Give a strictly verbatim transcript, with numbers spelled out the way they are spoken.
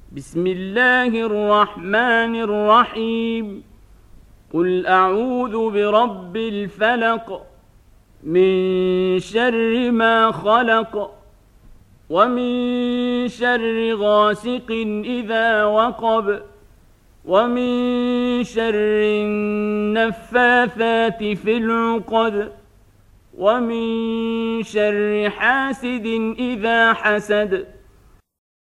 بسم الله الرحمن الرحيم قل أعوذ برب الفلق من شر ما خلق ومن شر غاسق إذا وقب ومن شر النفاثات في العقد ومن شر حاسد إذا حسد